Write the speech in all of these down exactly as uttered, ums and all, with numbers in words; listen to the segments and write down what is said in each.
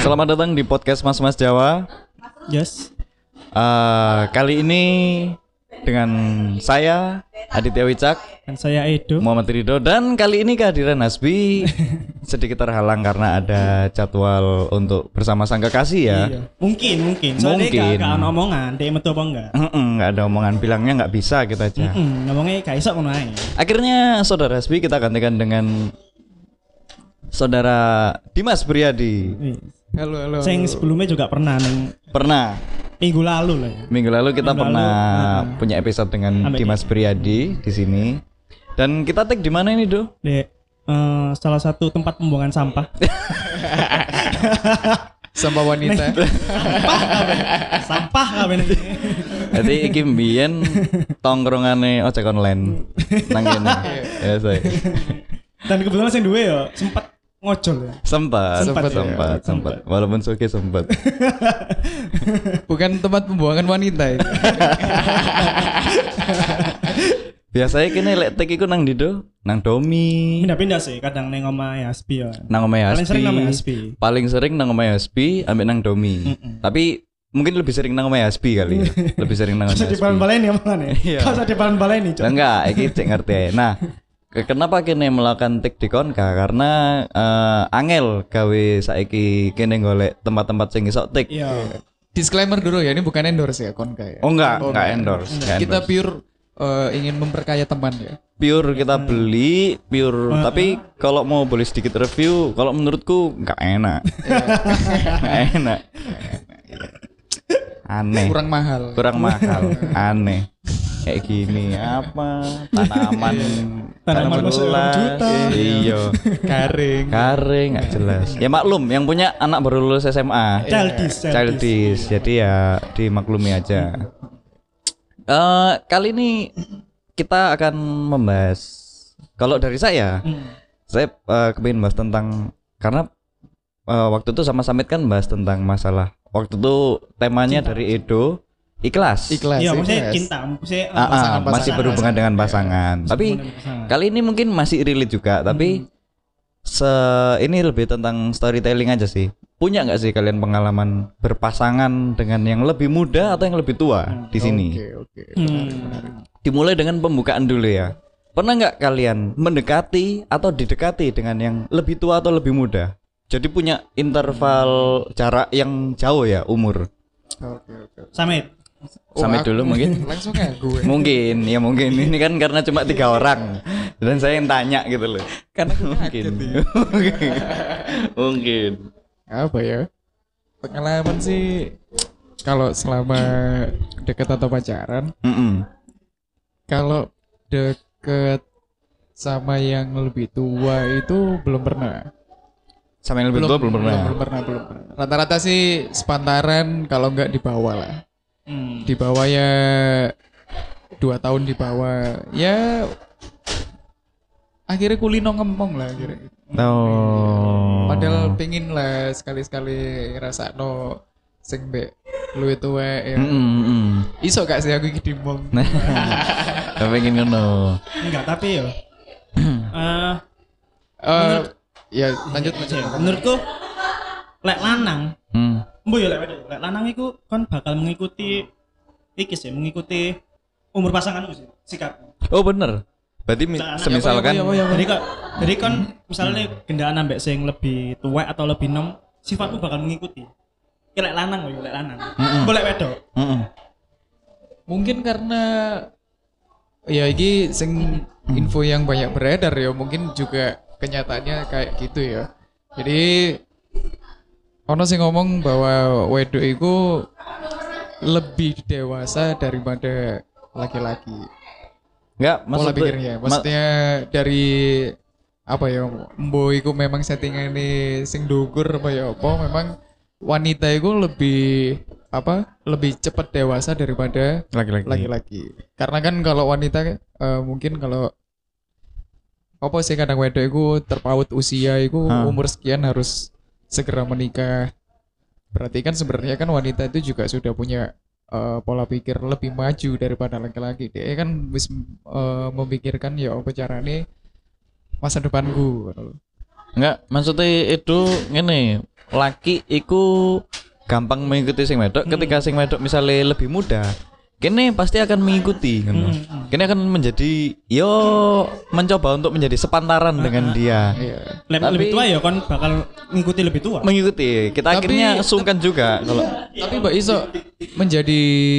Selamat datang di podcast Mas Mas Jawa. Yes. Uh, kali ini dengan saya Aditya Wicak Dan saya Edo, Muhammad Ridho. Dan kali ini kehadiran Hasbi sedikit terhalang karena ada jadwal untuk bersama sang kekasih ya. Iya. Mungkin, mungkin. Soalnya Mungkin. gak ada omongan, dia metu apa enggak? Mm-mm, nggak ada omongan, bilangnya nggak bisa kita aja. Mm-mm, ngomongnya gak iso ngono ae. Akhirnya saudara Hasbi kita gantikan dengan saudara Dimas Priadi. Halo, halo. Sing sebelumnya juga pernah ning Pernah minggu lalu lah ya. minggu lalu kita Minggu pernah lalu, uh-uh. punya episode dengan Ambek Dimas Priadi di sini. Dan kita tag di mana ini, Do? Di eh, salah satu tempat pembuangan sampah. Sampah wanita. Sampah kabeh. Sampah kabeh. Jadi iki mbiyen tongkrongane ojek online nang kene. Ya, saya. Dan kebetulan sing duwe ya sempat ngojol ya. Sempat, sempat, Sempat, ya. sempat, sempat. Walaupun suki sempat. Bukan tempat pembuangan wanita itu. Biasanya kene lek tek iku nang ndi, Do? Nang Domi. Pindah-pindah sih, kadang ning omahe Hasbi ya. Nang omahe Paling sering Hasbi. namanya Hasbi. Paling sering nang omahe Hasbi ambek nang Domi. Mm-mm. Tapi mungkin lebih sering nang omahe Hasbi kali ya. Lebih sering nang Kau omahe di balan Hasbi. baleni omongannya. Iya. Kau di balan baleni, Cok. Lah enggak, iki cek ngerti ae. Nah, ke- kenapa kene melakukan tik di Konka? Karena eh, angel gawe saiki kene golek tempat-tempat sing iso tik. Iya. Disclaimer dulu ya, ini bukan endorse ya Konka ya. Oh enggak, enggak endorse. enggak Kita endorse. pure eh, ingin memperkaya teman ya. Pure kita beli, pure. Uh, Tapi kalau mau boleh sedikit review, kalau menurutku enggak enak. Enggak enak. Aneh. Kurang mahal. Kurang mahal. Aneh. Kayak gini apa? Tanaman Tanaman masuk jelas. juta. Iya. Garing. Garing nggak jelas. Ya maklum, yang punya anak baru lulus S M A. Childish, childish. Childish. Jadi ya dimaklumi aja. Eh kali ini kita akan membahas. Kalau dari saya, Hmm. saya uh, kepingin bahas tentang karena uh, waktu itu sama Samit kan bahas tentang masalah. Waktu itu temanya Cinta. dari Edo ikhlas. Ikhlas. Iya, maksudnya ikhlas. cinta, maksudnya Ah, ah, pasangan, masih pasangan, berhubungan pasangan. dengan pasangan. Tapi kali ini mungkin masih relate juga, tapi se ini lebih tentang storytelling aja sih. Punya nggak sih kalian pengalaman berpasangan dengan yang lebih muda atau yang lebih tua di sini? Oke, oke. Hmm. Dimulai dengan pembukaan dulu ya. Pernah nggak kalian mendekati atau didekati dengan yang lebih tua atau lebih muda? Jadi punya interval jarak yang jauh ya umur. Oke, oke. Samit. Sampai aku- dulu mungkin. Langsung ya gue. Mungkin, ya mungkin ini kan karena cuma tiga orang dan saya yang tanya gitu loh. Karena Mungkin, kaget ya. mungkin, mungkin. Apa ya? Pengalaman sih kalau selama deket atau pacaran, Mm-mm. kalau deket sama yang lebih tua itu belum pernah. Sama yang lebih tua belum pernah. Belum pernah, belum pernah. Rata-rata sih sepantaran, kalau enggak di bawah lah. Hmm. Di bawah ya dua tahun di bawah. Ya akhirnya kulino ngempong lah akhirnya. Oh. Padahal pengen lah sekali-sekali ngerasakno sing mbek luwih tuwek ya. Mm-mm, mm-mm. Iso gak sih aku iki dimong? Nah, pengen ngono. Enggak, tapi ya. Eh, Eh ya lanjut lanjut. ya, menurutku lek lanang, Hmm. mbo ya lek wedok. Lek lanang iku kan bakal mengikuti iki sih, mengikuti umur pasanganmu sih, sikap. Oh bener. Berarti mi- Jangan- semisalkan Ya, apa, ya, apa, ya, apa. Jadi kok jadi kan misalnya gendaan ambek sing lebih tua atau lebih nom, sifatmu bakal mengikuti. Ki lek lanang lho, lek lanang. Mm-mm. Boleh wedok. Mm-mm. Mungkin karena ya ini sing info yang banyak beredar ya, mungkin juga kenyataannya kayak gitu ya. Jadi ono sing ngomong bahwa wedok itu lebih dewasa daripada laki-laki. Enggak, Pola maksud pikirnya, maksudnya dari apa ya, mbo iku memang settingane sing dhuwur apa ya apa, memang wanita itu lebih apa lebih cepat dewasa daripada laki-laki. laki-laki. Karena kan kalau wanita eh, mungkin kalau apa sih kadang wedok itu terpaut usia itu Hah. umur sekian harus segera menikah. Berarti kan sebenarnya kan wanita itu juga sudah punya eh, pola pikir lebih maju daripada laki-laki. Dia kan wis eh, memikirkan ya apa carane masa depanku. Enggak, maksudnya itu ngene. laki iku gampang mengikuti sing wedok, ketika sing wedok misalnya lebih muda, kene pasti akan mengikuti ngono. Kene akan menjadi yo mencoba untuk menjadi sepantaran dengan dia. Lek Tapi- lebih tua ya kon bakal ngikuti lebih tua. Mengikuti. Kita Tapi- akhirnya sungkan juga kalau Tapi mbak iso menjadi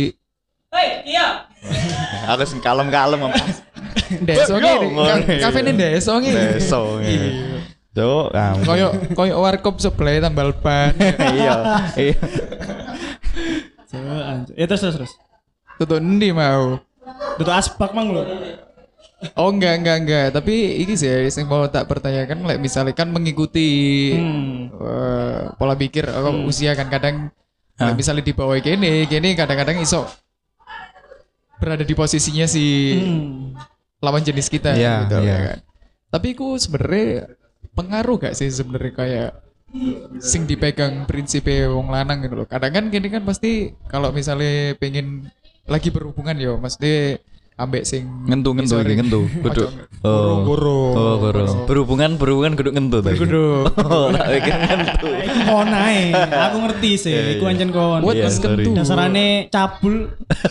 aku sing kalem-kalem apa. deso Yo, ngene, ngono. ka- kafe ini deso ngene. Deso. Cuk, kamu. Koyo koyo warkop sebelah tambal ban. Iya. Iya. So, anjir. Ya terus terus terus. Tutuk endi mau? Dudu asbak mang lho. Oh enggak enggak enggak, tapi ini sih yang mau tak pertanyakan, like, misalnya kan mengikuti Hmm. eh, pola pikir atau usia kan kadang like, misalnya di bawah gini, gini kadang-kadang iso berada di posisinya si Hmm. lawan jenis kita Iya, gitu iya. ya kan. Tapi ku sebenarnya pengaruh gak sih sebenarnya kayak sing dipegang prinsipnya wong lanang gitu loh. Kadang kan gini kan pasti kalau misalnya pengen lagi berhubungan yo, mesti ambek sing Ngentu ngentu isore- iki ngentu. Kudu. Goro, goro. Oh, goro. Berhubungan berhubungan kudu ngentu tadi. Kudu. Oh, tak pikir ngentu. Iku kon ae. Aku ngerti sih, iku anjen kon. Buat Iya, mas sorry. kentu. Dasarane cabul.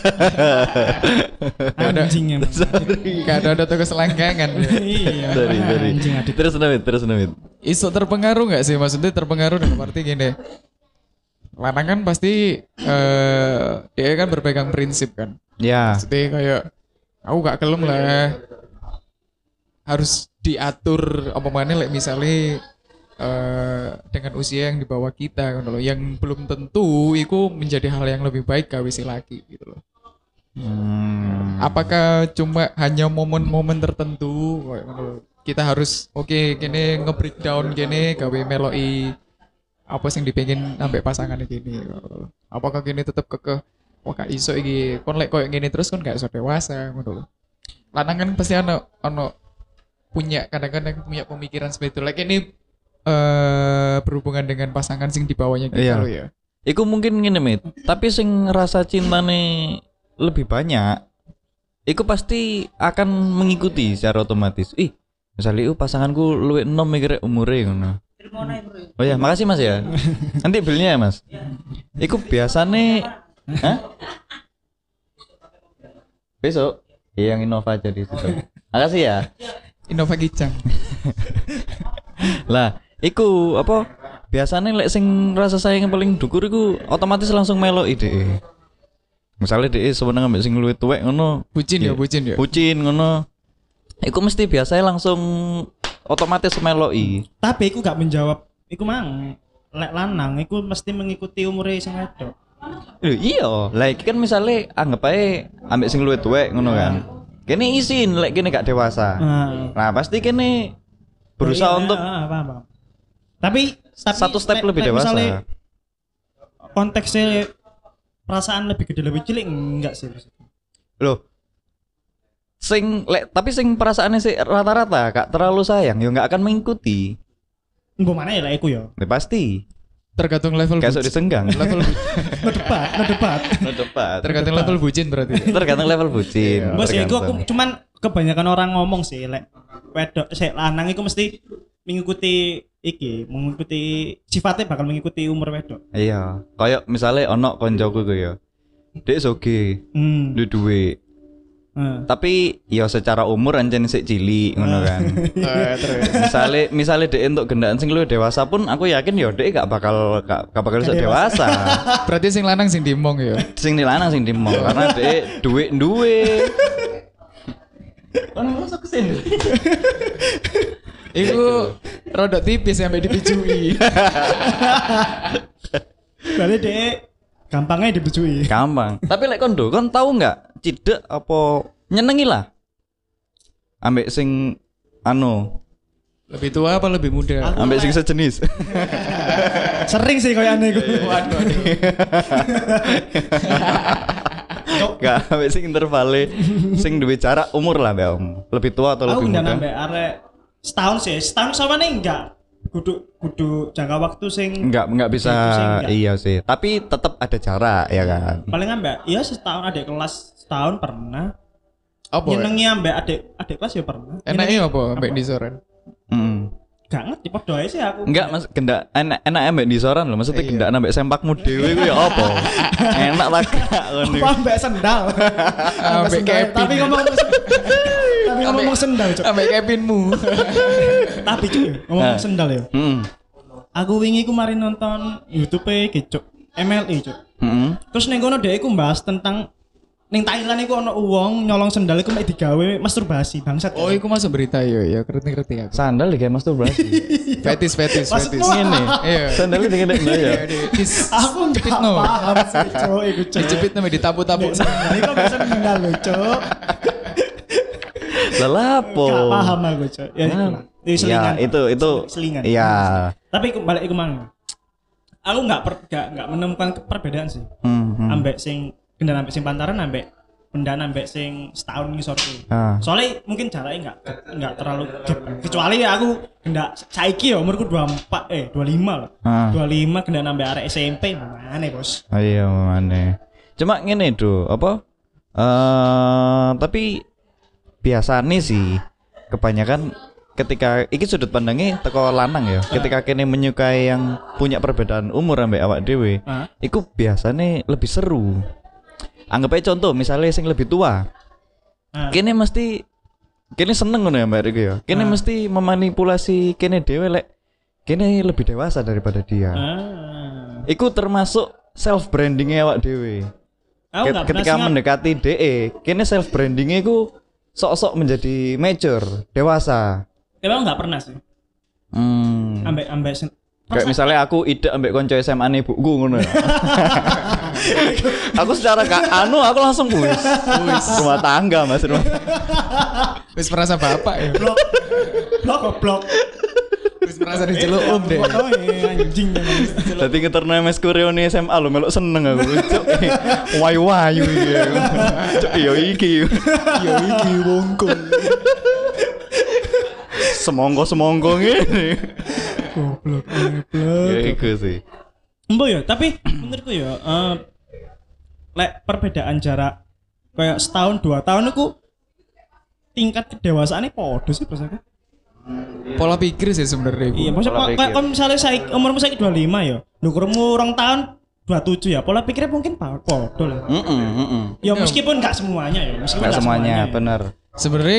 Anjing emang. Gak ada ada tugas selangkangan. Iya. Sorry, sorry. Anjing adit. Terus namit, terus namit. Iso terpengaruh nggak sih, maksudnya terpengaruh dalam arti gini. Lanang kan pasti eh dia kan berpegang prinsip kan. Ya. Maksudnya kayak aku gak kelem lah. Harus diatur apa mana like, misalnya eh dengan usia yang di bawah kita gitu loh, yang belum tentu itu menjadi hal yang lebih baik gawe si laki gitu loh. Hmm. Apakah cuma hanya momen-momen tertentu kayak ngono lho. Kita harus oke gini nge-breakdown gini gawe meloi apa sing dipengin sampai pasangan gini. Apakah gini tetap kekeh wah gak iso iki kon lek koyo ngene terus kon gak iso dewasa ngono lho. Lanang kan pasti ono ono punya kadang-kadang punya pemikiran seperti itu. Like ini eh berhubungan dengan pasangan sing di bawahnya kita Iya. loh ya. Iku mungkin ngene mit, tapi sing rasa cintane lebih banyak, iku pasti akan mengikuti secara otomatis. Ih, misalnya uh, pasanganku luwih enom mikir umure ngono. Oh ya, makasih Mas ya. Nanti bilnya ya Mas. Iku biasane, hah? Besok, iya, yang Innova aja di situ. Makasih ya. Innova Gicang. Lah, iku apa? Biasanya lek sing rasa sayang yang paling dhukur iku otomatis langsung melo ide. Misalnya dhek sewenang ambek sing luwih tuwek ngono, Bucin ya, Iya. bucin ya. bucin ngono. Iku mesti biasanya langsung otomatis meloi. Tapi iku gak menjawab. Iku mang lek lanang iku mesti mengikuti umure sing wedok. Lho iya, lah iki kan misalnya anggap ae ambek sing luwih tuwek ngono kan. Kene isin lek kene gak dewasa. Nah, Nah, pasti kene berusaha iya, untuk ah, paham, paham. Tapi, tapi satu step lek- lebih lek dewasa. misalnya konteksnya perasaan lebih gede lebih cilik enggak sih maksudnya. Loh. Sing lek tapi sing perasaannya sih rata-rata gak terlalu sayang, ya gak akan mengikuti. Mbok mana ya lek iku ya. Ya pasti. Tergantung level Kayak sok bucin. disenggang. Level No debat, no debat. No debat. tergantung level bucin berarti. Tergantung level bucin. Bos ya iku aku tergantung. cuman kebanyakan orang ngomong sih lek wedok sik lanang iku mesti mengikuti iki, mengikuti sifatnya bakal mengikuti umur wedok. Iya, kayak misalnya ono koncoku ku ya. Dek soge, Hmm. duwe duwe. Heeh. Tapi ya secara umur ancen sik cilik ngono kan. Eh, terus. Misale misale dek entuk gendaan sing luwih dewasa pun aku yakin ya dek gak bakal gak, gak bakal iso dewasa. Berarti sing lanang sing dimong ya. Sing dilanang sing dimong karena dek duwe duwe. Ono masuk kesini. Iku rada tipis sampai dipijui. Berarti dek gampangnya dibujui. Gampang. Tapi lek kondo, kon tahu nggak cidek apa nyenengi lah. Ambek sing anu, Lebih tua apa lebih muda? ambek sing sejenis. Sering sih kayak aneh iku. Waduh, waduh. Gak ambek sing intervale sing duwe jarak umur lah Mbak Om. Lebih tua atau Aku lebih udah muda? nambah arek setahun sih. Setahun sama nih enggak. Kudu kudu jangka waktu sing Enggak, enggak bisa. Itu sih enggak. Iya sih. Tapi tetap ada jarak ya kan. paling ambek ya setahun adik kelas setahun pernah. Apa? ya? Nyenengi ambek adik adik kelas ya pernah. Enaknya apa ambek di soren? Mm. gak ngerti padha ae sih aku. Enggak, Mas, gendak enak enak ambek disoran lho. Maksudnya Iya. gendak ambek sempakmu dhewe ku ya apa? Enak lah gak ngono. Apa mbak sendal? Ambek Ambek sendal. Kevin. Tapi ngomong tapi ngomong sendal, Cuk. Ambek Kevinmu. Tapi Cuk, ngomong Nah. sendal ya. Heeh. Aku wingi ku mari nonton YouTube-e iki, Cuk. M L E, Cuk. Heeh. Terus ning kono dhek iku mbahas tentang ning Thailand iku ana wong nyolong sendal iku mek digawe masturbasi bangsat. Oh, iku masuk berita yo ya, ngerti-ngerti aku. Sandal iki masturbasi. Fetis fetis Maksudmu fetis. ngene. Iya. Sandal iki ngene ya. Iya, di- dis- Aku cepit enggak no. paham sih, Cuk, iku Cuk. Dijepit namanya ditapu-tapu. Sendal iku mek sendal lho, Cuk. Lah lapo? Gak paham aku, Cuk. Ya itu lah. Itu Ya, selingan. itu itu Selingan. Iya. Tapi iku balik iku mang. Aku enggak per, gak, gak menemukan perbedaan sih. Hmm. hmm. Ambek sing kendaraan ambek sing pantaran ambek kendaraan ambek sing setahun ngisorku. Ah. Soalnya mungkin jaraknya enggak enggak terlalu gap. Kecuali ya aku kendak saiki ya umurku dua puluh empat eh dua puluh lima loh. Ah. dua puluh lima kendaraan ambek arek S M P mana Bos? Oh iya mana. Cuma ngene do, apa? Eh tapi biasanya sih kebanyakan ketika iki sudut pandangnya teko lanang ya. Ketika kene menyukai yang punya perbedaan umur ambek awak dhewe, Ah. iku biasanya lebih seru. Anggap aja contoh misalnya sing lebih tua. Ah. Kene mesti kene seneng ngono ya Mbak Riko ya. Kene Ah. mesti memanipulasi kene dhewe lek kene lebih dewasa daripada dia. Ah. Iku termasuk self brandingnya awak dhewe. Aku Ket- enggak ketika pernah mendekati D E, kene self brandingnya iku sok-sok menjadi mature, dewasa. Emang enggak pernah sih. Hmm. Ambek ambek sen- Kayak misalnya aku ide ambek konco S M A ne buku ngono ya. Aku secara ka, anu aku langsung wis. Wis rumah tangga Mas rumah. Wis merasa bapak ya. blok blok goblok. Wis merasa diceluk om deh. Oh iya, anjing memang. Dadi ngeterno M S Kureone S M A lho melok seneng aku. Cuk. Wayu-wayu iki. Cuk yo iki. Yo iki wongkol. Semongko-semongko ngene. Goblok, Ya goblok. iku sih. Mbok ya, tapi menurutku ya eh lek perbedaan jarak kayak setahun dua tahun itu tingkat kedewasaannya podo sih perasaan. Pola pikir sih sebenarnya. Iya, iku. maksudnya Pola kayak pikir. kalau misalnya saya umurmu saya dua puluh lima ya, nukurmu orang tahun dua puluh tujuh ya, pola pikirnya mungkin pa- podo lah. Heeh, heeh. Ya meskipun nggak semuanya ya, meskipun Enggak nggak semuanya, ya. bener. Sebenarnya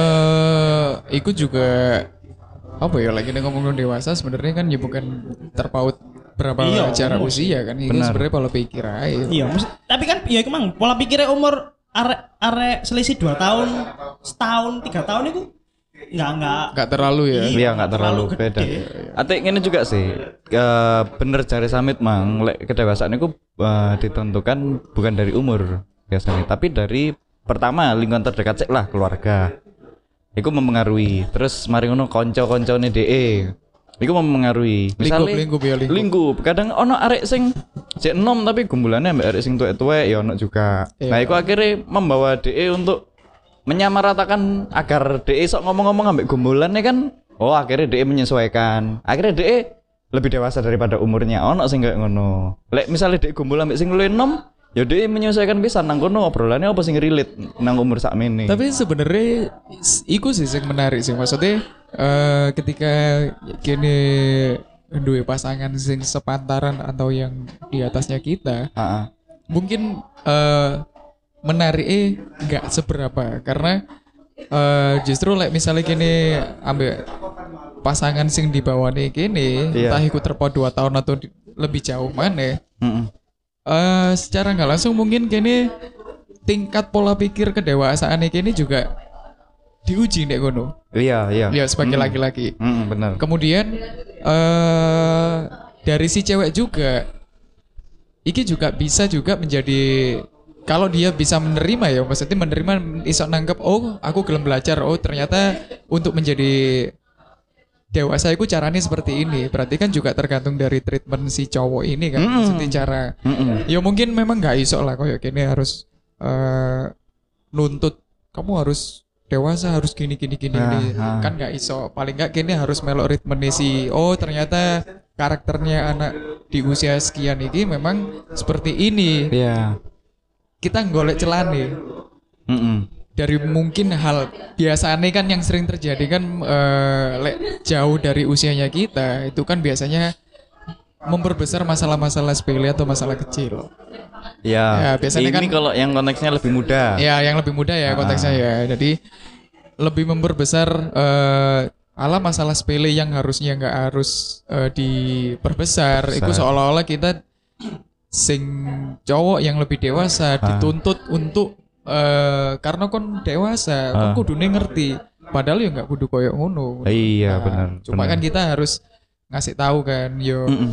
eh itu juga apa ya lagi ngomong dewasa sebenarnya kan ya bukan terpaut berapa Iya, jarak umur. usia kan itu Benar. sebenarnya pola pikir aja. Iya, maksud, tapi kan ya emang pola pikirnya umur arek arek selisih dua tahun, setahun, tiga tahun itu nggak nggak Nggak terlalu ya. Iya nggak terlalu terlalu beda. gede. Atik ini juga sih, eh, bener cari Samit mang, lek kedewasaan itu eh, ditentukan bukan dari umur biasanya, tapi dari pertama lingkungan terdekat sih lah keluarga. Iku mempengaruhi. Terus mari ngono konco-koncone D E. Iku mempengaruhi. Misalnya Lingkup, lingkup ya, lingkup. lingkup. Kadang ono arek sing sik enom tapi gumbulannya mbak arek sing tuwek-tuwek ya ono juga. Iya. Nah, iku akhirnya membawa D E untuk menyamaratakan agar D E sok ngomong-ngomong ambek gumbulannya kan. Oh, akhirnya D E menyesuaikan. Akhirnya D E lebih dewasa daripada umurnya. Ono sing kayak ngono. Lek misalnya D E gumbul ambek sing luwih enom, ya D E menyesuaikan bisa nang kono obrolannya apa sing relate nang umur sakmene. Tapi sebenarnya is- iku sih yang menarik sih maksudnya eh ketika kini duwe pasangan sing sepantaran atau yang di atasnya kita Heeh. mungkin eh menariknya nggak seberapa karena eh justru like misalnya kini ambil pasangan sing di bawah nih kini Iya. entah ikut terpaut dua tahun atau di- lebih jauh mana Heeh. eh secara nggak langsung mungkin kini tingkat pola pikir kedewasaan kini juga diuji nih kono Iya, iya. ya sebagai Mm. laki-laki Mm, benar. kemudian eh dari si cewek juga iki juga bisa juga menjadi kalau dia bisa menerima ya maksudnya menerima iso nangkep oh aku gelem belajar oh ternyata untuk menjadi dewasa itu caranya seperti ini berarti kan juga tergantung dari treatment si cowok ini kan Mm. maksudnya cara Mm-mm. ya mungkin memang nggak iso lah kayak gini harus eh nuntut kamu harus dewasa harus gini gini gini, Nah, gini. nah. Kan nggak iso paling nggak gini harus melok ritme si oh ternyata karakternya anak di usia sekian ini memang seperti ini Iya. kita golek celah nih Mm-mm. dari mungkin hal biasanya kan yang sering terjadi kan eh, lek jauh dari usianya kita itu kan biasanya memperbesar masalah-masalah sepele atau masalah kecil. Ya, Ya, biasanya ini kan- kalau yang konteksnya lebih muda. Ya, yang lebih muda ya konteksnya ya. Jadi lebih memperbesar eh, ala masalah sepele yang harusnya nggak harus eh, diperbesar. Itu Besar. seolah-olah kita sing cowok yang lebih dewasa dituntut untuk eh, karena kon dewasa, kon Ah. kudune ngerti. Padahal ya nggak kudu koyo ngono. Iya, Nah, benar. Cuma benar. kan kita harus ngasih tahu kan, yo Mm-mm.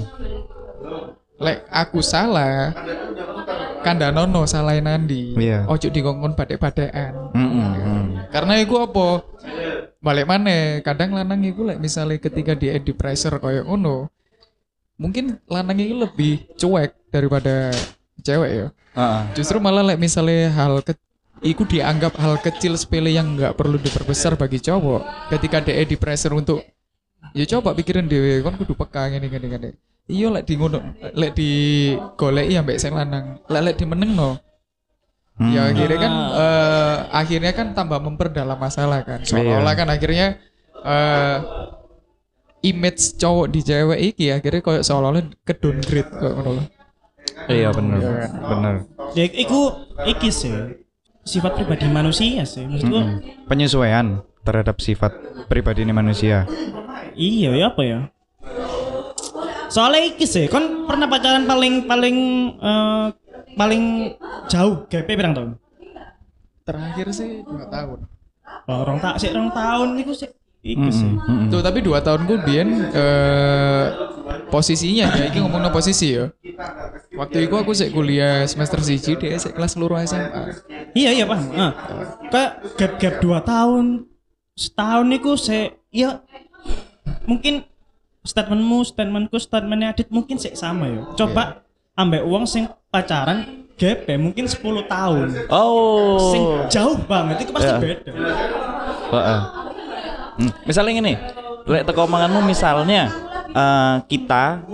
lek aku salah, kandanono salahin Nandi. Iya. Ojo dikongkon badek-badekan. Mm-mm, mm. Karena iku apa? Balik mana? Kadang lanang iku lek misalnya ketika dia di pressure koyo ngono, mungkin lanang iku lebih cuek daripada cewek ya. Heeh. Justru malah lek misalnya hal ke iku dianggap hal kecil sepele yang nggak perlu diperbesar bagi cowok. Ketika dia di pressure untuk ya coba pikirin dhewe kon kudu peka ngene ngene ngene. Iya lek di ngono lek di goleki ambek sing lanang. Lek lek dimenengno. Hmm. Ya akhirnya kan eh, akhirnya kan tambah memperdalam masalah kan. Seolah-olah kan akhirnya eh image cowok di cewek iki akhirnya koyo seolah-olah ke downgrade kok ngono lho. Iya benar. Benar. Ya iku iki sih sifat pribadi manusia sih maksudku. Mm-mm. Penyesuaian terhadap sifat pribadi ini manusia. Iya ya apa ya? Soalnya iki sih, kon pernah pacaran paling paling eh, paling jauh G P berapa tahun? Terakhir sih dua tahun. Oh, orang tak sih orang tahun iku sih iki sih. Mm-mm. Tuh tapi dua tahun kemudian eh posisinya ya iki ngomongno posisi ya. Waktu itu aku sih kuliah semester siji dia sih kelas loro S M A. Iya iya paham. Ah. Kayak gap-gap dua tahun setahun iku sih ya mungkin statementmu, statementku, statementnya Adit mungkin sih sama ya. Coba ambek uang sing pacaran gap ya mungkin sepuluh tahun. Oh. Sing jauh banget itu pasti Ya. beda. Heeh. Hmm, misalnya gini, lek teko omonganmu misalnya eh, kita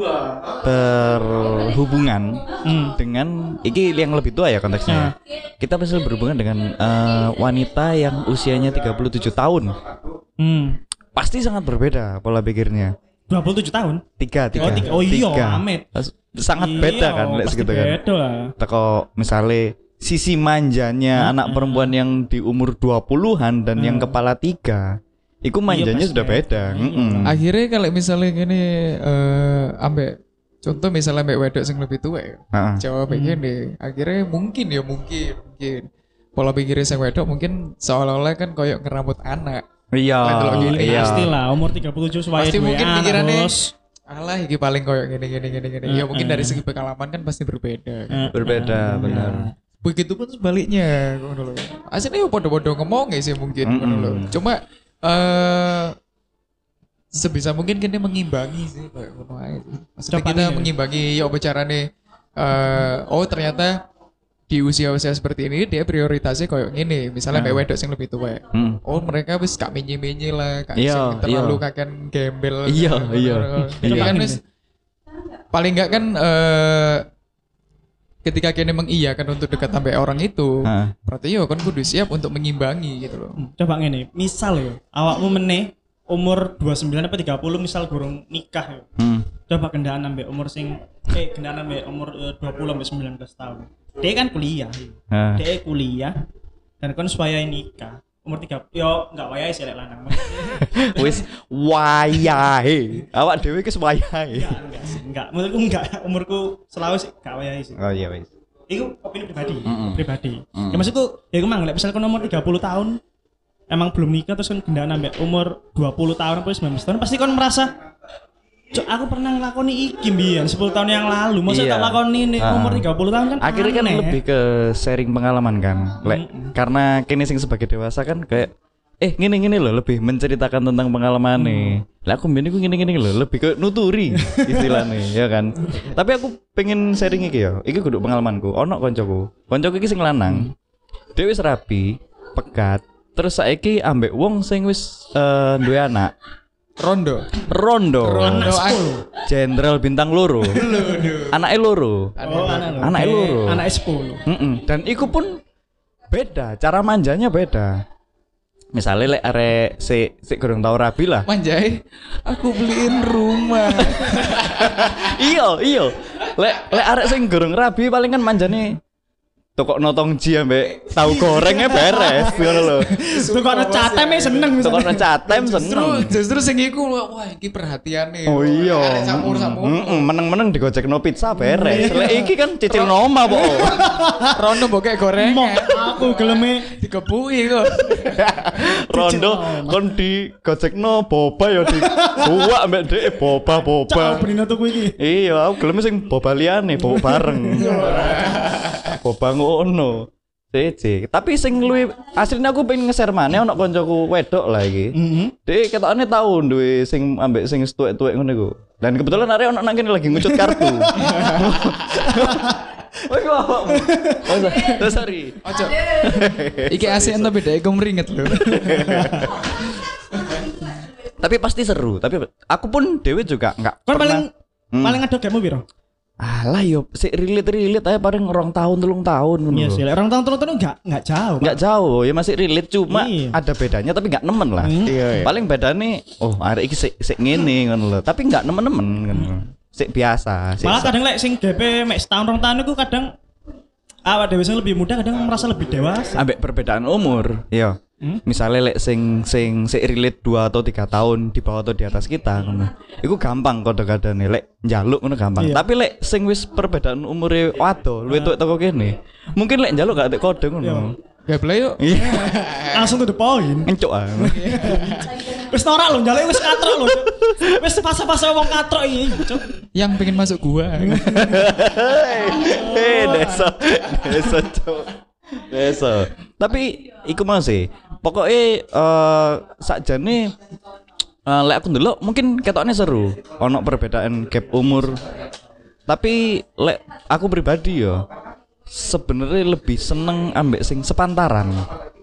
berhubungan Hmm. dengan iki yang lebih tua ya konteksnya. Kita pasti berhubungan dengan eh, wanita yang usianya tiga puluh tujuh tahun. Hmm. Pasti sangat berbeda pola pikirnya. dua puluh tujuh tahun. Tiga, tiga. Oh, tiga. Oh iya, Tiga. Amit. Sangat Iya, beda kan lek pasti segitu kan. beda lah. Teko misalnya sisi manjanya anak perempuan yang di umur dua puluhan dan yang kepala tiga. Iku manjanya pasti sudah beda. beda. Iya. Mm-mm. Akhirnya kalau misalnya gini eh ambek contoh misalnya ambek wedok sing lebih tua ya. Heeh. Jawab gini, akhirnya mungkin ya mungkin mungkin pola pikirnya sing wedok mungkin seolah-olah kan koyok ngeramut anak. Iya, Lihat dulu gini, iya. Pastilah umur tiga puluh tujuh suwahe Pasti duwe mungkin anak, pikirannya Bos. Alah iki paling koyok gini gini gini gini. Ya mungkin dari segi pengalaman kan pasti berbeda. kan. Eh, Berbeda, benar. Begitupun sebaliknya ngono lho. Asline yo padha-padha ngomong sih mungkin ngono lho. Mm-mm. Cuma eh sebisa mungkin kene mengimbangi sih kayak ngono ae. sih. Maksudnya Coba kita nih. mengimbangi yo bicarane eh oh ternyata di usia-usia seperti ini dia prioritasnya kayak gini. Misalnya Ah. mbak wedok yang lebih tua. Hmm. Oh mereka wis gak menye-menye lah, gak Iya, sing terlalu iya. kakek gembel. Iya, iya. Jadi Iya. kan wis paling enggak kan eh ketika kene mengiyakan untuk dekat sampai orang itu, Heeh. berarti yo kan kudu siap untuk mengimbangi gitu loh. Coba ngene, misal ya, awakmu meneh umur dua puluh sembilan apa tiga puluh misal gurung nikah ya. Hmm. Coba gendaan ambek umur sing eh gendaan ambek umur eh, dua puluh sampai sembilan belas tahun. Dia kan kuliah. Nah. Dia kuliah dan kon supaya nikah. Umur tiga yo enggak wayahe sih lek lanang. Wis wayahe. Awak dhewe ki wayahe. Enggak, enggak sih, enggak. Menurutku enggak. Umurku selalu sih enggak wayahe sih. Oh iya wis. Iku opini pribadi, Mm-mm. pribadi. Mm. Ya maksudku, ya iku mang lek misal kon umur tiga puluh tahun emang belum nikah terus kon gendaan ambek umur dua puluh tahun apa sembilan belas tahun pasti kon merasa Cuk, aku pernah ngelakoni iki mbiyen sepuluh tahun yang lalu. Masa Iya. tak lakoni nih Ah. umur tiga puluh tahun kan. Akhirnya kan aneh. lebih ke sharing pengalaman kan. Lek karena kini sing sebagai dewasa kan kayak eh gini gini loh lebih menceritakan tentang pengalaman nih. Lah aku mbien iku gini gini loh lebih ke nuturi istilahnya ya kan. Tapi aku pengen sharing iki ya. Iki kudu pengalamanku. Ono koncoku. Koncoku iki sing lanang. Dhewe wis rapi, pegat. Terus saiki ambek wong sing wis eh, duwe anak. Rondo. Rondo. Rondo. Jenderal bintang loro. Anake loro. Oh, anak loro. Anake Oke, loro. Anak sepuluh. Mm-mm. Dan iku pun beda, cara manjanya beda. Misalnya lek arek si si kurang tau rabi lah. Manjai, aku beliin rumah. Iya, iya. Lek lek arek sing gorong rabi paling kan manjane toko notong ji ambek tahu gorengnya beres ngono lho. Tukokno cateme seneng Toko misalnya. catem Justru seneng. justru sing iku wah iki perhatiane. Oh iya. Arek campur-campur. Heeh, meneng-meneng digojekno pizza beres. Lek iki kan cicil noma po. Rono bokek goreng. Mok aku geleme Dikepuki kok. Rondo kon digojekno boba ya di buak ambek dhek boba boba. cak benino tuku iki. Iya, aku gelem sing boba liyane, boba bareng. Boba ngono. Cece. Tapi sing luwih asline aku pengen nge-share maneh ono koncoku wedok lah iki. Heeh. Dek ketokane tau duwe sing ambek sing tuwek-tuwek ngono iku. Dan kebetulan arek ono nang kene lagi ngucut kartu. Oh iku awakmu. Oh, so- oh, sorry. Ojo. Iki asik tapi dhek iku meringet lho. Tapi pasti seru. Tapi aku pun dewe juga enggak Kon pernah. paling Hmm. paling ada game piro? Alah yo sik relate-relate aja paling rong tahun telung tahun ngono. Iya lho. sih, lek orang tahun terus enggak enggak jauh. Pak. Enggak jauh ya masih relate cuma Iya. ada bedanya tapi enggak nemen lah. Hmm. Iya, iya. Paling bedane oh arek iki sik sik ngene ngono lho. Tapi enggak nemen-nemen ngono. Sik biasa, sik Malah kadang lek sing G P mek setahun rong tahun iku kadang awak dhewe sing lebih muda kadang merasa lebih dewasa. ambek perbedaan umur. Iya. Hmm? Misalnya lek sing sing sik relate dua atau tiga tahun di bawah atau di atas kita ngono. Iku gampang kode-kodene lek njaluk ngono gampang. Iya. Tapi lek sing wis perbedaan umure wado luwih tuwek teko kene. Mungkin lek njaluk gak tek kode Iya. ngono. Gameplay yuk. Iya. Langsung to the point. Encuk ah. Wis norak lho, njaluk wis katrok lho. Cuk. Wis fase-fase wong katrok iki, Cuk. Yang pengen masuk gua. Eh, desa, desa cok, desa. Tapi iku mau sih. Pokoknya eh sakjane eh lek aku ndelok mungkin ketokne seru. Ono perbedaan gap umur. Tapi lek aku pribadi ya sebenarnya lebih seneng ambek sing sepantaran.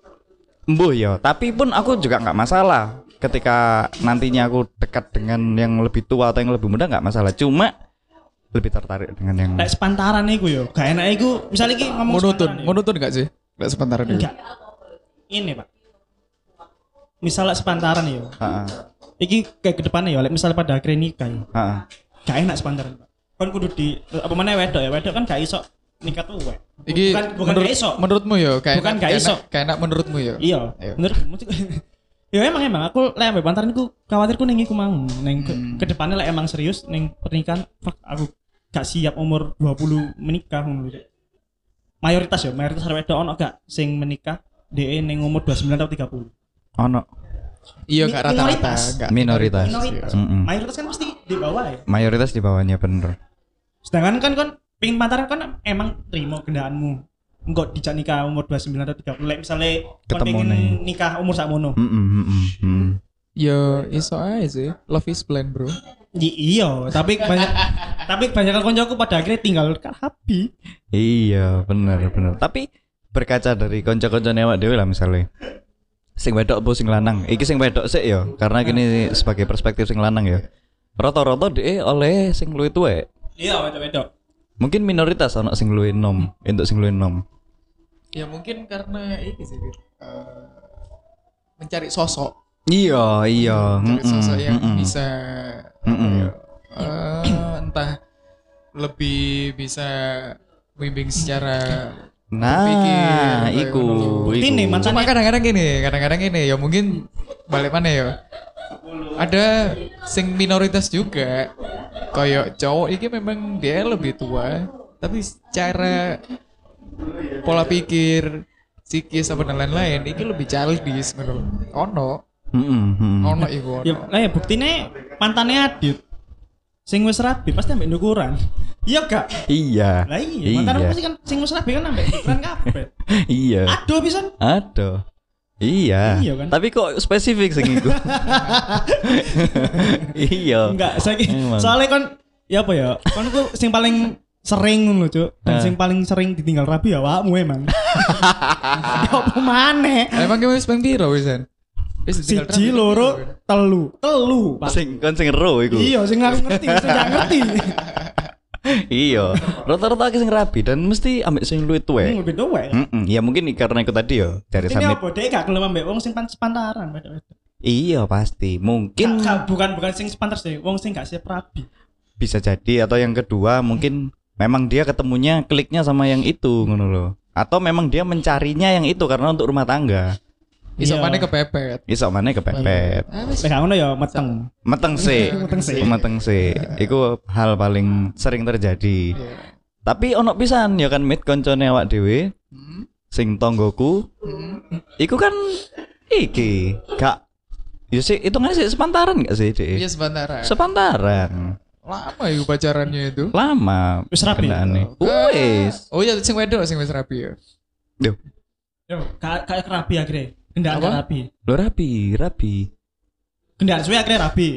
Mbuh ya, tapi pun aku juga nggak masalah ketika nantinya aku dekat dengan yang lebih tua atau yang lebih muda nggak masalah. Cuma lebih tertarik dengan yang Lek sepantaran iku yo, gak enak iku. Misal iki ngomong Monoton, sepantaran yo. monoton gak sih? Gak sebentar dulu. Enggak. Ini, Pak. Misal lek sepantaran yo. Heeh. Iki kayak ke depannya ya, lek misal pada akhirnya nikah yo. Heeh. Gak enak sepantaran, Pak. Kon kudu di apa mana wedok ya, wedok kan gak iso nikah tuwek. Iki bukan bukan menurut, gak iso. menurutmu ya kayak Bukan gak iso. Kayak enak menurutmu ya. Iya, Ayo. menurut ya emang emang aku lek ambek pantaran iku khawatirku ning iku mau ning ke, Hmm. ke depannya lek emang serius ning pernikahan fuck aku gak siap umur dua puluh menikah ngono lho. Mayoritas ya, mayoritas arek wedok ono gak sing menikah dhek ning umur dua puluh sembilan atau tiga puluh. Ono Iya Mi- gak rata-rata. minoritas. Gak minoritas. Minoritas. Mm-mm. Mayoritas kan pasti di bawah ya. Mayoritas di bawahnya bener. Sedangkan kan kon pingin pacaran kan emang terima kendaraanmu. Engko dijak nikah umur dua puluh sembilan atau tiga puluh. Lek misale kon Ketemu pengen nih. nikah umur sakmono. Mm-mm, mm-mm, mm. Ya iso aja sih. Love is blind bro. I- iya, tapi banyak tapi banyak koncoku pada akhirnya tinggal happy. Iya, bener bener. Tapi berkaca dari kanca-kancane awak dhewe lah misalnya. Sing wedok apa sing lanang? Iki sing wedok sik ya, karena gini sebagai perspektif sing lanang ya. Rata-rata dhek oleh sing luwih tuwek. Iya, wedok-wedok. Mungkin minoritas ono sing luwih enom, entuk sing luwih enom. Ya mungkin karena ini sih. eh, mencari sosok. Iya, iya. Mencari mm-mm, sosok yang mm-mm, bisa mm-mm. eh, entah lebih bisa bimbing secara Nah, berpikir, iku, Bukti iku. nih, mantan- cuma kadang-kadang gini, kadang-kadang gini ya mungkin balik mana ya. Ada sing minoritas juga. Kayak cowok ini memang dia lebih tua, tapi secara pola pikir, psikis apa dan lain-lain ini lebih childish menurut. Ono, Mm-mm, mm-mm. ono iku ono. Ya, lah ya buktine mantannya Adit. Sing wis rabi pasti ambek ukuran. Iya gak? Iya. Lah iya, mantan Iya. pasti kan sing wis rabi kan ambek ukuran kabeh. Iya. Aduh pisan. Aduh. Iya. Iya kan? Tapi kok spesifik sing iku? Iya. Enggak, saiki Emang. soalnya kan ya apa ya? Kon ku sing paling sering ngono, Cuk. Dan Eh. sing paling sering ditinggal rabi ya awakmu emang. Ya apa maneh? Emang kamu wis ping piro wisan? Wis ditinggal Siji, terakhir loro, piro? telu. Telu, Pak. Sing kon sing ero iku. Iya, sing aku ngerti, sing gak ngerti. Iya, rata-rata akeh sing rabi dan mesti ambek sing luwih tuwek. Hmm, lebih tuwek. Heeh, ya mungkin karena itu tadi yo dari Ini samit. apa dhek gak gelem ambek wong sing pan- sepantaran wedok-wedok. Iya pasti, Gak, mungkin gak, bukan bukan sing sepantar sih, wong sing gak siap rabi. bisa jadi atau yang kedua mungkin memang dia ketemunya kliknya sama yang itu ngono loh. Atau memang dia mencarinya yang itu karena untuk rumah tangga. Iso Iya. maneh kepepet. Iso mana kepepet. Ah, wis. Lek gak ngono ya meteng. Meteng sih. Meteng sih. Meteng sih. Iku hal paling sering terjadi. Iya. Tapi ono pisan ya kan mit koncone awak dhewe Hmm. sing tonggoku. Hmm. Iku kan iki gak ya sih itu nggak sih sepantaran gak sih deh? Iya sebentar. Sepantaran. Lama ya pacarannya itu. Lama. Wis rapi? kendaane. Ah. Wis. Oh iya sing wedok sing wis rapi ya. Duh, Yo, gak gak rabi akhirnya. Kendaan gak Apa? rabi. lo rapi, rapi. Kendaan suwe akhirnya rabi.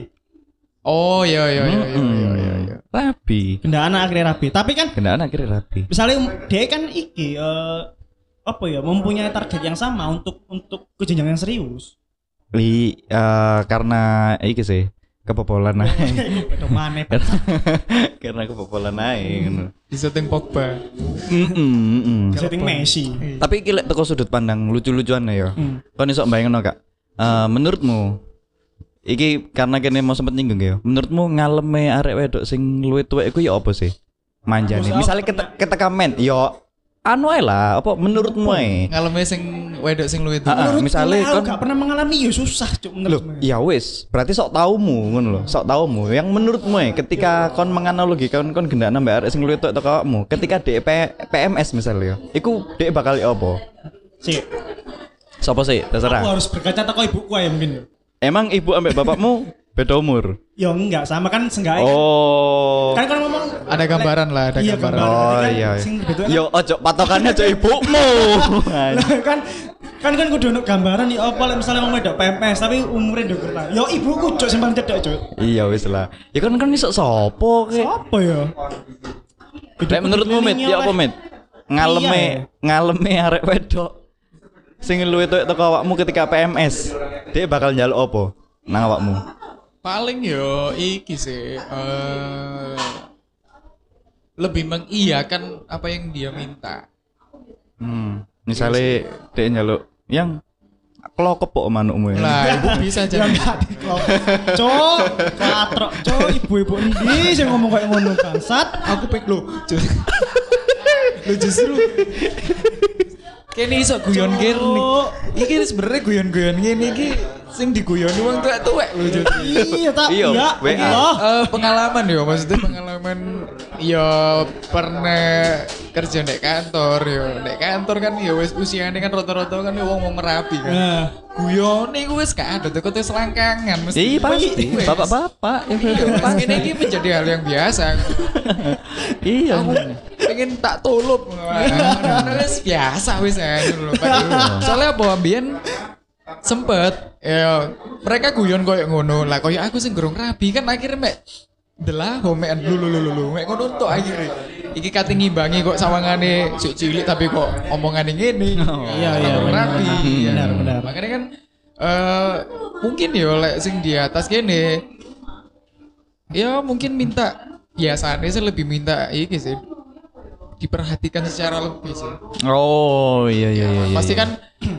Oh iya iya iya iya iya iya. iya. Rapi. Kendaan akhirnya rabi. Tapi kan Kendaan akhirnya rapi. misalnya dia kan iki eh, apa ya mempunyai target yang sama untuk untuk ke jenjang yang serius. Li eh, karena iki sih kebobolan naik. Beda maneh. Karena kebobolan naik. ngono. Di setting Pogba. Mm-mm, mm-mm. Setting Messi. Tapi iki lek teko sudut pandang lucu-lucuan ya. Hmm. Kon iso bayangno Kak. Eh, menurutmu iki karena kene mau sempet nyinggung ya. Menurutmu ngaleme arek wedok sing luwih tuwek iku ya apa sih? Manjane. Maksud Misalnya apa? kita kita komen, yo anu ae lah, apa menurutmu ae? Ngaleme sing wedok sing luwih Ah, ah, tuwa. misalnya Menurutku, kon gak pernah mengalami ya susah cuk loh, menurutku. ya wis, berarti sok taumu ngono lho, sok taumu. Yang menurutmu ae ketika kon menganalogikan kon gendana mbak arek sing luwih tuwek teko awakmu, ketika D P P M S misalnya, iku dhek bakal ya apa? Sik, Sopo sih? aku Terserah. harus berkaca teko ibuku ya mungkin ya. Emang ibu ambek bapakmu beda umur? Ya enggak, sama kan seenggaknya. Oh. Kan kan ngomong Ada gambaran lah, ada iya, gambaran. gambaran. Oh Kan iya. sing betul kan- Yo ojo patokannya ojo ibumu. Lah, kan kan kan kudu ono gambaran ya apa lek misalnya wong wedok P M S tapi umure ndek kurang. Yo ibuku cuk sing paling cedek cuk. Iya wis lah. Ya kan kan iso sopo ke? Apa ya? Lek menurutmu Mit, ya apa Mit? Ngaleme ngaleme arek wedok sing luwih tuwek teko awakmu ketika P M S. Dia bakal njaluk apa nang awakmu? Paling yo iki sih eh lebih mengiyakan apa yang dia minta. Hmm, misale dia njaluk yang klokep kok manukmu ya. Lah, itu bisa Ya jadi. enggak diklop. Cuk, katrok cuk ibu-ibu endi sing ngomong kayak ngono bangsat. Aku pek lo. Lo justru kene iso guyon kene. Iki sebenarnya guyon-guyon ngene iki sing diguyoni wong tuwek-tuwek lho justru. Iya tak Iya, iya. W A. Allah. Eh, pengalaman ya maksudnya pengalaman ya pernah kerja di kantor ya di kantor kan ya wis usianya kan rata-rata kan ya wong mau merapi kan Nah, guyone gue wis gak ada teko selangkangan mesti Iya pasti, Wis. bapak-bapak. Iya, pas ini ini menjadi hal yang biasa. Iya. Aku pengen tak tulup. Nah, wis biasa wis ya dulu. Soalnya apa ambien sempet ya mereka guyon koyo ngono lah koyo aku sing gorong rabi kan akhirnya mek delah homean lulu lulu lulu mek ngono tok akhirnya iki kate ngimbangi kok sawangane sik cilik tapi kok omongane ngene Iya, iya, gorong benar. rabi Benar, benar. makanya kan eh mungkin yo lek sing di atas kene ya mungkin minta biasanya sih lebih minta iki sih diperhatikan secara lebih sih. Oh iya iya iya. Pasti iya. kan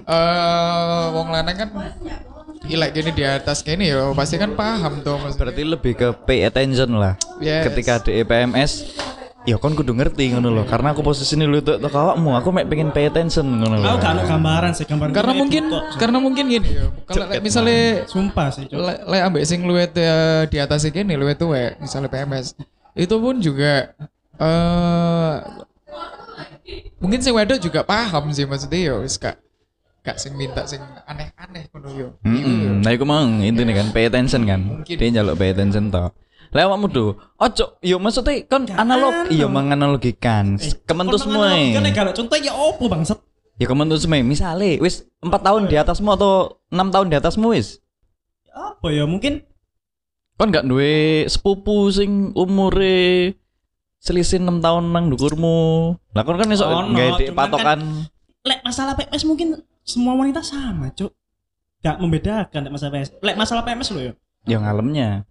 eh wong lanang kan gila gini di atas gini ya pasti kan paham tuh mas. Berarti lebih ke pay attention lah. Yes. Ketika di P M S, ya kon kudu ngerti ngono loh. Karena aku posisi ini lu tuh awakmu, aku mek pengen pay attention ngono loh. aku gak ada gambaran sih gambaran. Karena Kayak mungkin gitu kok. karena mungkin gini ya. Kalau lek misalnya Sumpah sih, Cuk. le, le ambek sing luwet eh, di atas gini luwet tuh ya misalnya P M S itu pun juga eh mungkin sing wedok juga paham sih maksudnya ya wis gak gak sing minta sing aneh-aneh ngono yo. Hmm, nah iku mang intine kan pay attention kan. Mungkin. Dia njaluk pay attention to. Lah awakmu do, ojo yo maksudnya kon analog iya menganalogikan. Kementu semua. Kan nek galak contoh ya opo bangsat. Ya kementu semua. Misale wis empat tahun di atasmu atau enam tahun di atasmu wis. Apa ya mungkin Kon gak duwe sepupu sing umure selisih enam tahun nang dhuwurmu. Lah kon kan iso Ono, gawe cuman patokan. lek masalah P M S mungkin semua wanita sama, Cuk. Gak membedakan lek masalah P M S. Lek masalah P M S lo ya. Ya ngalemnya.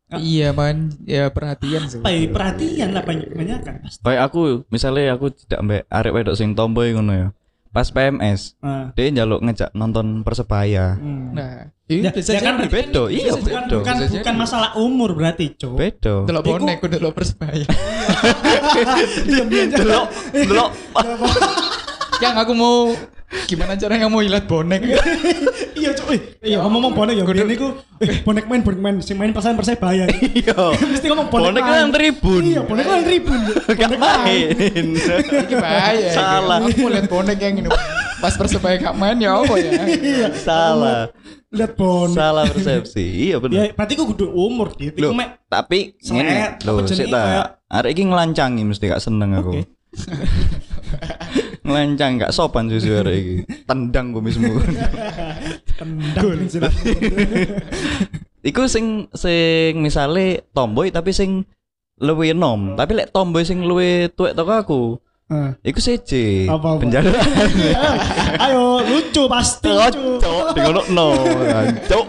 Iya man, ya perhatian sih. Apa ya, perhatian lah banyak banyak kan. Kayak aku, misalnya aku tidak mbak arek wedok sing tomboy ngono ya. Pas P M S, Ah. dia njaluk ngejak nonton Persebaya. Hmm. Nah, itu Ya, bisa ya kan jadi. Bedo, iya bukan bedo. bukan, Bisa bukan jadi. masalah umur berarti, Cuk. Bedo. Delok Iku- bonek, kudu delok Persebaya. Diam-diam aja. Delok, delok. Yang aku mau gimana caranya mau ilat bonek? Iya, Cuk. Eh, iya ngomong bonek ya. Biyen niku eh bonek main bonek main sing main perasaan Persebaya. Iya. Mesti ngomong bonek. Bonek main. kan tribun. Iya, bonek kan tribun. Gak main. Iki bahaya. Salah. Aku mau lihat bonek yang ini. Pas Persebaya gak main ya apa ya? Iya. Salah. Lihat bonek. Salah persepsi. Iya Ya, bener. berarti ku kudu umur gitu. Loh, Iku mek tapi Selet, ngene apa lho, jenenge sik ta. kayak- Arek iki nglancangi mesti gak seneng aku. Oke. Ngelancang gak sopan susu arek iki. Tendang kumismu. tendang jelas. Iku sing sing misale tomboy tapi sing luwih enom, tapi lek tomboy sing luwih tuwek toko aku. Heeh. Iku seje. Apa-apa? Penjara. Ayo lucu pasti lucu. Cok, di ngono no. Cok.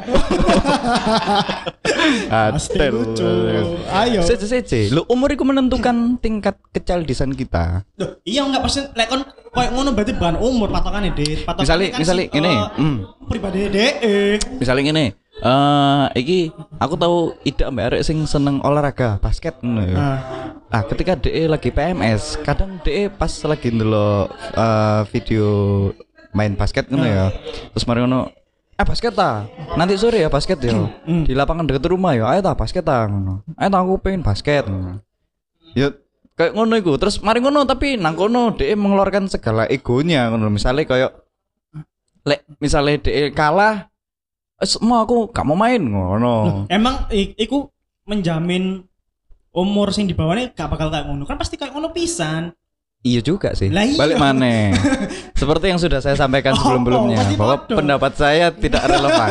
Pasti Atel. lucu. Ayo. Seje seje. Lu umur iku menentukan tingkat kecaldisan kita. Loh, iya enggak pasti lek kon koyo ngono berarti bukan umur patokane, Dit. Patokane Misale- kan misale si- ngene, eh, hmm. pribadi dhek. eh. Misalnya gini, eh iki aku tahu ide mbak arek sing seneng olahraga basket ngono ya. Ah. Ah, ketika D E lagi P M S, kadang D E pas lagi ndelok eh, video main basket ngono ya. Terus mari ngono, "Eh basket ta? Nanti sore ya basket ya. Di lapangan dekat rumah ya. Ayo ta basket ta." Ngono. "Ayo ta aku pengen basket." Ngono. Ya kayak ngono iku. Terus mari ngono tapi nang kono D E mengeluarkan segala egonya ngono. Misalnya kayak lek misalnya D E kalah, "Eh, semua aku gak mau main ngono." Emang i- iku menjamin umur sing di bawahnya gak bakal kayak ngono. Kan pasti kayak ngono pisan. Iya juga sih. Lah iya. Balik mana? Seperti yang sudah saya sampaikan Oh, sebelum-belumnya pasti bahwa bodoh. pendapat saya tidak relevan.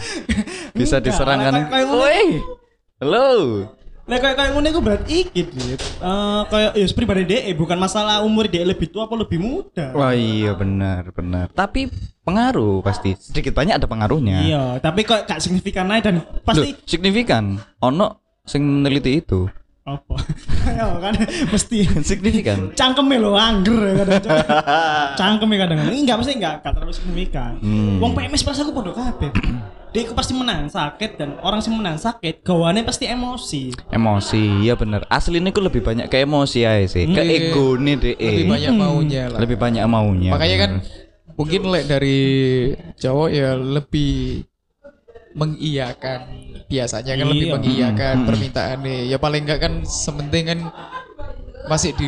Bisa Enggak, diserangkan. kayak- kayak ngono. Woi. Halo. Lah kayak kayak ngono iku berarti iki, Dit. Eh kayak ya pribadi dhek bukan masalah umur dhek lebih tua apa lebih muda. Wah iya benar benar. Tapi pengaruh pasti sedikit banyak ada pengaruhnya. Iya, tapi kok gak signifikan aja dan Loh, pasti signifikan. Ono sing neliti itu. apa? Ayo kan mesti Signifikan. cangkeme lo angger ya kadang cangkeme kadang enggak pasti enggak enggak terlalu signifikan. Hmm. Wong P M S pas aku podo kabeh. Dia iku pasti menang sakit dan orang sing menang sakit gawane pasti emosi. Emosi, iya bener. Aslinya itu lebih banyak ke emosi aja sih. Ke Iya. ego nih deh. Lebih banyak maunya lah. Lebih banyak maunya. Makanya kan bener. mungkin lek dari cowok ya lebih mengiyakan biasanya kan lebih Iya. mengiyakan Hmm. permintaannya ya paling enggak kan sementing kan masih di,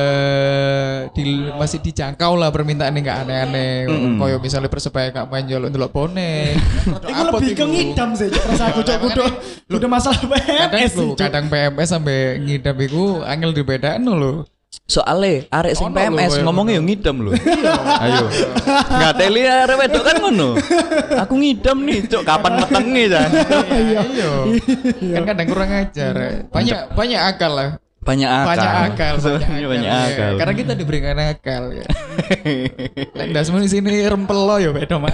eh, di masih dijangkau lah permintaannya nggak aneh-aneh Mm-mm. koyo misalnya persebaya nggak main jual untuk bonek Iku lebih ke ngidam sih cok rasa aku cok kudu kudu masalah P M kadang S sih, lu Cok. kadang P M S sampai ngidam iku angel dibedakan lo Soale arek sing Ono P M S lho, koyo ngomongnya yo ngidam lho. Ayo. Enggak teli arek wedok kan ngono. Aku ngidam nih, cok kapan metenge ta? iya kan kadang kurang ajar banyak banyak akal lah Banyak akal. banyak akal Sebenarnya banyak ya. akal. Karena kita diberikan akal ya lek ndasmu di sini rempel lo ya beda mah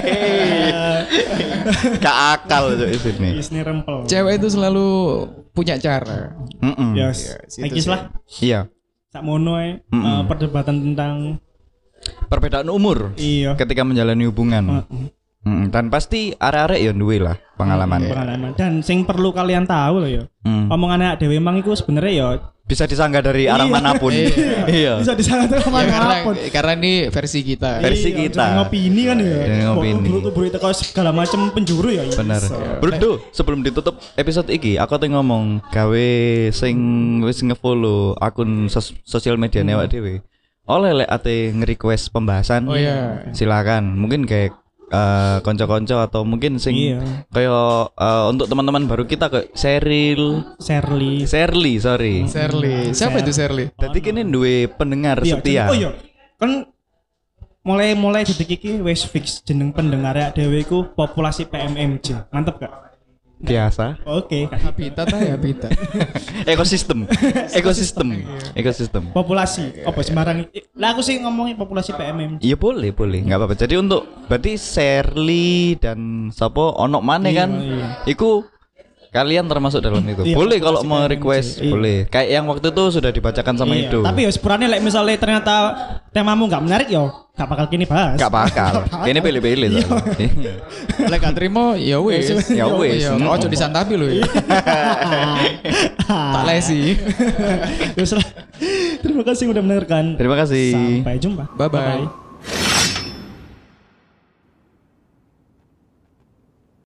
Gak akal cok di sini. Isne rempel. cewek itu selalu punya cara Heeh. Yes. situ Iki sih. lah Iya. sak mono ae Mm-mm. eh, perdebatan tentang Perbedaan umur iya ketika menjalani hubungan. Heeh. Mm, dan pasti arek-arek ya duwe lah pengalaman. pengalaman dan sing perlu kalian tahu loh ya Hmm. omongan anak dewe emang itu sebenarnya ya Bisa disanggah dari arah Iya. manapun. Iya. bisa disangat ya, karena manapun. karena ini versi kita Versi Iya, kita. jangan ngopini kan ya. Jangan ngopini. Buru-buru itu kau segala macam penjuru ya. Bener. bisa. Bro, sebelum ditutup episode iki, aku tuh ngomong gawe sing wis ngefollow akun sos sosial media Hmm. awak dhewe. Oleh lek ate nge-request pembahasan. Oh, iya. Silakan. Mungkin kayak eh, konco-konco atau mungkin sing Iya. kayak eh, untuk teman-teman baru kita kayak Seril, Shirley. Serly, sorry. Shirley siapa itu Shirley Jadi kini duwe pendengar Iya, setia. jeneng- Oh iya. Kan mulai mulai detik iki wis fix jeneng pendengar ya dhewe iku populasi P M M J. Mantep gak? Biasa. Oke. habitat ah habitat Ekosistem. Ekosistem. Ekosistem. Populasi. Apa sembarang. Lah aku sih ngomongin populasi P M M J. Iya boleh, boleh, nggak apa-apa. Jadi untuk berarti Serly dan Sapo ono mana Iya, kan? iya. Iku kalian termasuk dalam itu. Iya, Boleh kalau pasti mau kalian request, sih. Iya. boleh. Kayak yang waktu itu sudah dibacakan sama Iya, itu. Tapi ya sepurane like misalnya ternyata temamu nggak menarik yo, nggak bakal kini bahas. Gak bakal. Ini pilih-pilih Iya. soalnya. Lek gak terima ya wis. Ya wis. Ya ojo disantapi lho ya. Tak lesi. Ya, Terima kasih udah mendengarkan. Terima kasih. Sampai jumpa. Bye bye.